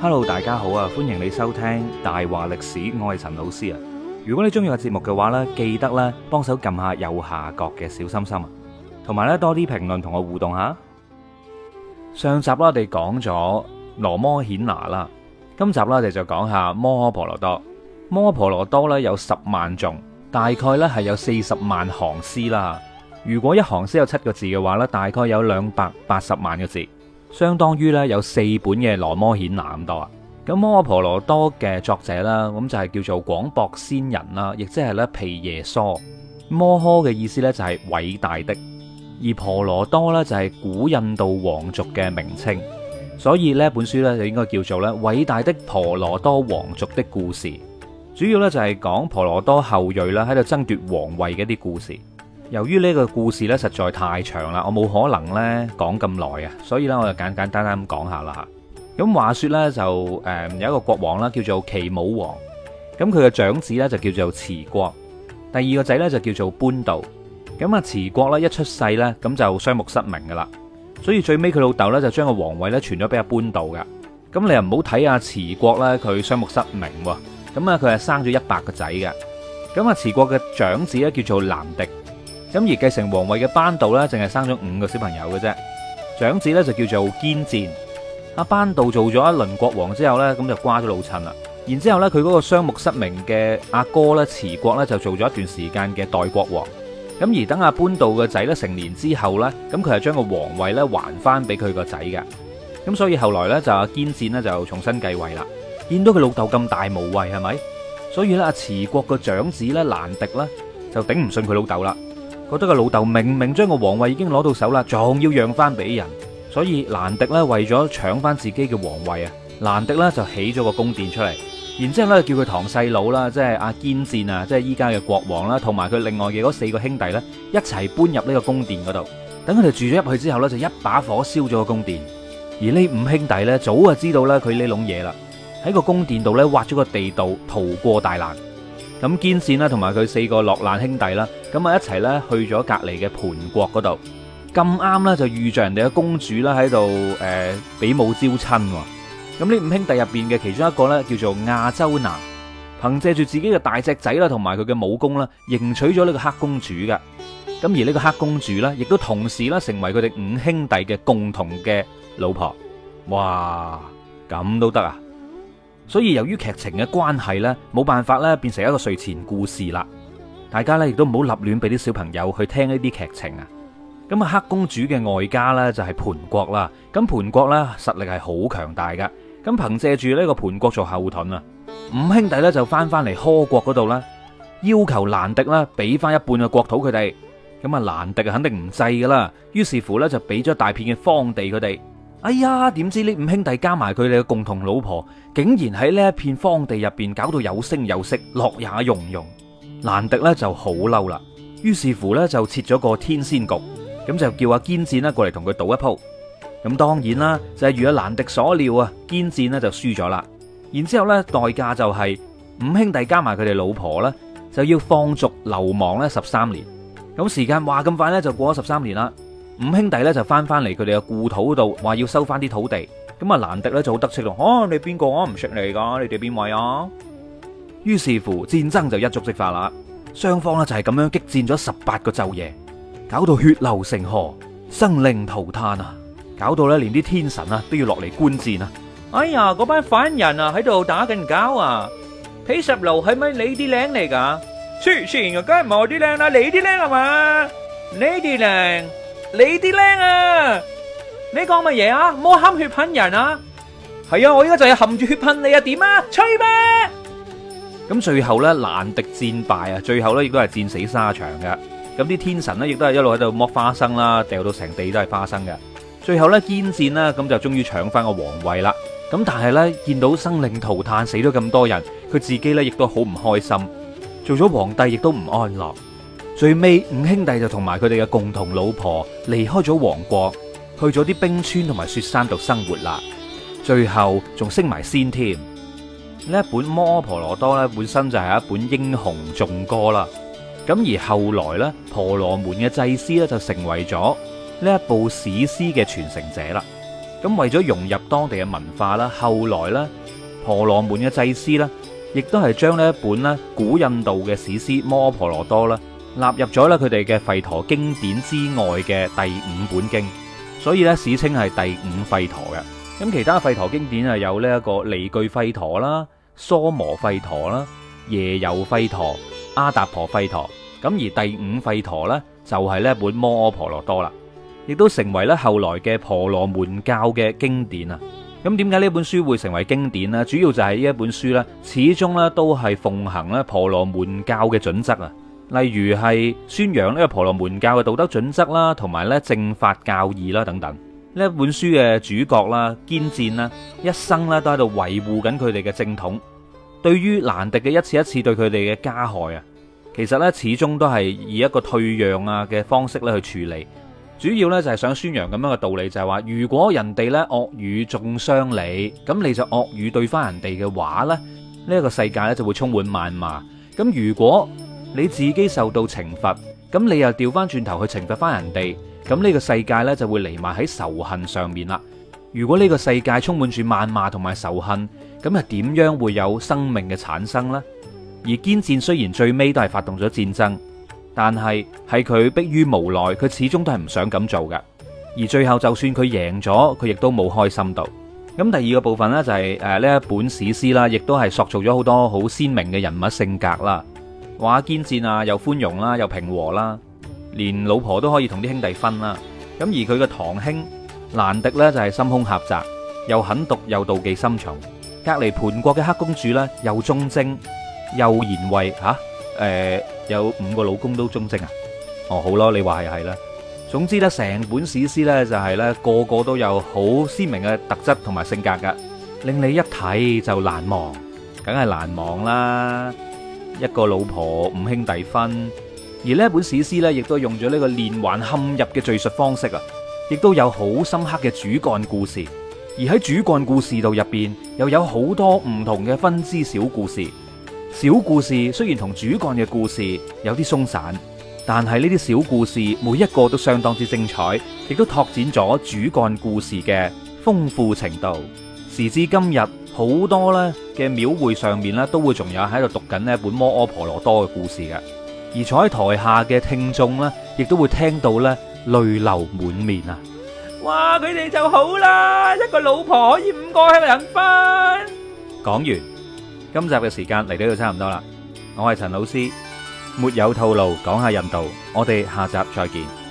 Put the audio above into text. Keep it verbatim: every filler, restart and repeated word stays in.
Hello，大家好啊！歡迎你收聽大話歷史，我係陳老師啊。如果你中意個節目嘅話呢，記得咧幫手撳下右下角嘅小心心啊，同埋咧多啲評論同我互動下。上集啦，我哋講咗羅摩衍那啦，今集啦，我哋就講下摩訶婆羅多。摩訶婆羅多咧有十萬頌，大概咧係有四十萬行詩啦。如果一行詩有七個字嘅話咧，大概有兩百八十萬個字。相當於咧有四本嘅羅摩衍那咁多啊！咁摩訶婆羅多嘅作者啦，咁就係叫做廣博仙人啦，亦即係咧毗耶娑。摩訶嘅意思咧就係偉大的，而婆羅多咧就係古印度王族嘅名稱，所以呢本書咧就應該叫做咧偉大的婆羅多王族的故事。主要咧就係講婆羅多後裔啦喺度爭奪皇位嘅一啲故事。由於呢個故事咧實在太長啦，我冇可能咧講咁耐啊，所以咧我就簡簡單單咁講下啦吓。咁話說咧就誒有一個國王啦，叫做奇武王。咁佢嘅長子咧就叫做持國，第二個仔咧就叫做班度。咁啊持國咧一出世咧咁就雙目失明噶啦，所以最尾佢老豆咧就將個皇位咧傳咗俾阿班度噶。咁你又唔好睇阿持國咧佢雙目失明喎，咁啊佢係生咗一百個仔嘅。咁啊持國嘅長子咧叫做南迪。咁而繼承皇位嘅班度咧，淨係生咗五個小朋友嘅啫。長子咧就叫做堅戰。阿班度做咗一輪國王之後咧，咁就瓜咗老襯啦。然之後咧，佢嗰個雙目失明嘅阿哥咧，持國咧就做咗一段時間嘅代國王。咁而等阿班度嘅仔咧成年之後咧，咁佢係將個皇位咧還翻俾佢個仔嘅。咁所以後來咧就阿堅戰咧就重新繼位啦。見到佢老豆咁大無畏係咪？所以咧阿持國個長子咧蘭迪咧就頂唔順佢老豆啦。覺得個老豆明明將個皇位已經攞到手啦，仲要讓翻俾人，所以蘭迪咧為咗搶翻自己嘅皇位啊，蘭迪咧就起咗個宮殿出嚟，然之後咧叫佢堂細佬啦，即係阿堅戰啊，即係依家嘅國王啦，同埋佢另外嘅嗰四個兄弟咧，一齊搬入呢個宮殿嗰度。等佢哋住咗入去之後咧，就一把火燒咗個宮殿。而呢五兄弟咧，早就知道咧佢呢籠嘢啦，喺個宮殿度咧挖咗個地道，逃過大難。咁堅戰啦，同埋佢四個落難兄弟啦，咁啊一齊咧去咗隔籬嘅盤國嗰度，咁啱咧就遇着人哋嘅公主啦喺度誒比武招親。咁呢五兄弟入邊嘅其中一個咧叫做亞洲拿，憑借住自己嘅大隻仔啦，同埋佢嘅武功啦，迎娶咗呢個黑公主噶。咁而呢個黑公主咧，亦都同時啦成為佢哋五兄弟嘅共同嘅老婆。哇，咁都得啊！所以由於劇情嘅關係呢，冇辦法咧變成一個睡前故事啦。大家咧亦都唔好立亂俾啲小朋友去聽呢啲劇情啊。咁啊，黑公主嘅外家呢，就係盤國啦。咁盤國呢，實力係好強大噶。咁憑借住呢個盤國做後盾啊，五兄弟呢就翻翻嚟柯國嗰度啦，要求蘭迪啦俾翻一半嘅國土佢哋。咁啊，蘭迪肯定唔制噶啦，於是乎呢，就俾咗大片嘅荒地佢哋。哎呀，點知呢五兄弟加埋佢哋嘅共同老婆，竟然喺呢一片荒地入邊搞到有聲有色，樂也融融。蘭迪呢就好嬲啦，於是乎呢，就設咗個天仙局，咁就叫阿堅戰啦過嚟同佢賭一鋪。咁當然啦，就係如阿蘭迪所料啊，堅戰呢就輸咗啦。然之後呢，代價就係五兄弟加埋佢哋老婆呢，就要放逐流亡呢十三年。咁時間話咁快呢，就過咗十三年啦。五兄弟咧就翻翻嚟佢哋嘅故土度，話要收翻啲土地。咁啊蘭迪咧就好得戚咯，哦、啊，你邊個啊？唔識你噶，你哋邊位啊？於是乎戰爭就一觸即發啦，雙方呢就係咁樣激戰咗十八個晝夜，搞到血流成河，生靈塗炭啊！搞到咧連啲天神啊都要落嚟觀戰啊！哎呀，嗰班反人啊喺度打緊交啊！皮十路係咪你啲靚嚟噶？黐線啊，梗係唔係我啲靚啦，你啲靚係嘛？你啲靚。你啲靚啊！你講乜嘢啊？唔好含血噴人啊！係啊，我依家就係含住血噴你啊！點啊？吹咩？咁最後呢，蘭迪戰敗啊，最後呢亦都係戰死沙場嘅。咁啲天神呢亦都係一路喺度剝花生啦，掉到成地都係花生嘅。最後呢，堅戰啦，咁就終於搶翻個皇位啦。咁但係呢，見到生靈塗炭，死咗咁多人，佢自己呢亦都好唔開心，做咗皇帝亦都唔安樂。最尾五兄弟就同埋佢哋嘅共同老婆離開咗王國，去咗啲冰川同埋雪山度生活啦。最後仲升埋仙添。呢一本摩訶婆羅多咧，本身就係一本英雄頌歌啦。咁而後來咧，婆羅門嘅祭司咧就成為咗呢一部史詩嘅傳承者啦。 咁為咗融入當地嘅文化啦，後來咧婆羅門嘅祭司咧，亦都係將呢一本咧古印度嘅史詩《摩訶婆羅多》啦納入咗咧佢哋嘅吠陀經典之外嘅第五本經，所以咧史稱係第五吠陀嘅。咁其他吠陀經典啊有呢一個梨俱吠陀啦、娑摩吠陀啦、耶柔吠陀、阿達婆吠陀。咁而第五吠陀呢，就係呢一本《摩訶婆羅多》啦，亦都成為咧後來嘅婆羅門教嘅經典啊。咁點解呢本書會成為經典呢？主要就係呢一本書呢，始終咧都係奉行咧婆羅門教嘅準則啊。例如係宣揚呢個婆羅門教嘅道德準則啦，同埋咧正法教義啦等等。呢一本書嘅主角啦，堅戰啦，一生咧都喺度維護緊佢哋嘅正統。對於難敵嘅一次一次對佢哋嘅加害啊，其實咧始終都係以一個退讓啊嘅方式咧去處理。主要咧就係想宣揚咁樣嘅道理，就係話如果人哋咧惡語中傷你，咁你就惡語對翻人哋嘅話咧，呢一個世界咧就會充滿謾罵。咁如果你自己受到懲罰，咁你又調翻轉頭去懲罰翻人哋，咁呢個世界咧就會彌漫喺仇恨上面啦。如果呢個世界充滿住謾罵同埋仇恨，咁又點樣會有生命嘅產生呢？而堅戰雖然最尾都係發動咗戰爭，但係係佢迫於無奈，佢始終都係唔想咁做嘅。而最後就算佢贏咗，佢亦都冇開心到。咁第二個部分呢，就係誒呢一本史詩啦，亦都係塑造咗好多好鮮明嘅人物性格啦。話堅戰啊，又寬容啦，又平和啦，連老婆都可以同啲兄弟分啦。咁而佢嘅堂兄蘭迪呢，就係心胸狹窄，又狠毒又妒忌心重。隔籬盤國嘅黑公主呢，又忠貞又賢惠吓，誒、呃、有五個老公都忠貞啊？哦好咯，你話係係啦。總之呢，成本史詩呢，就係呢個個都有好鮮明嘅特質同埋性格噶，令你一睇就難忘，梗係難忘啦。一個老婆五兄弟分，而呢本史詩呢，亦都用咗呢個連環嵌入嘅敘述方式啊，亦都有好深刻嘅主幹故事。而喺主幹故事度入邊，又有好多唔同嘅分支小故事。小故事雖然同主幹嘅故事有啲鬆散，但係呢啲小故事每一個都相當之精彩，亦都拓展咗主幹故事嘅豐富程度。時至今日，好多咧嘅廟會上面咧，都會仲有喺度讀緊呢一本《摩訶婆羅多》嘅故事嘅。而坐喺台下嘅聽眾呢，亦都會聽到咧淚流滿面啊！哇！佢哋就好啦，一個老婆可以五個人分。講完，今集嘅時間嚟到就差唔多啦。我係陳老師，沒有套路，講下印度，我哋下集再見。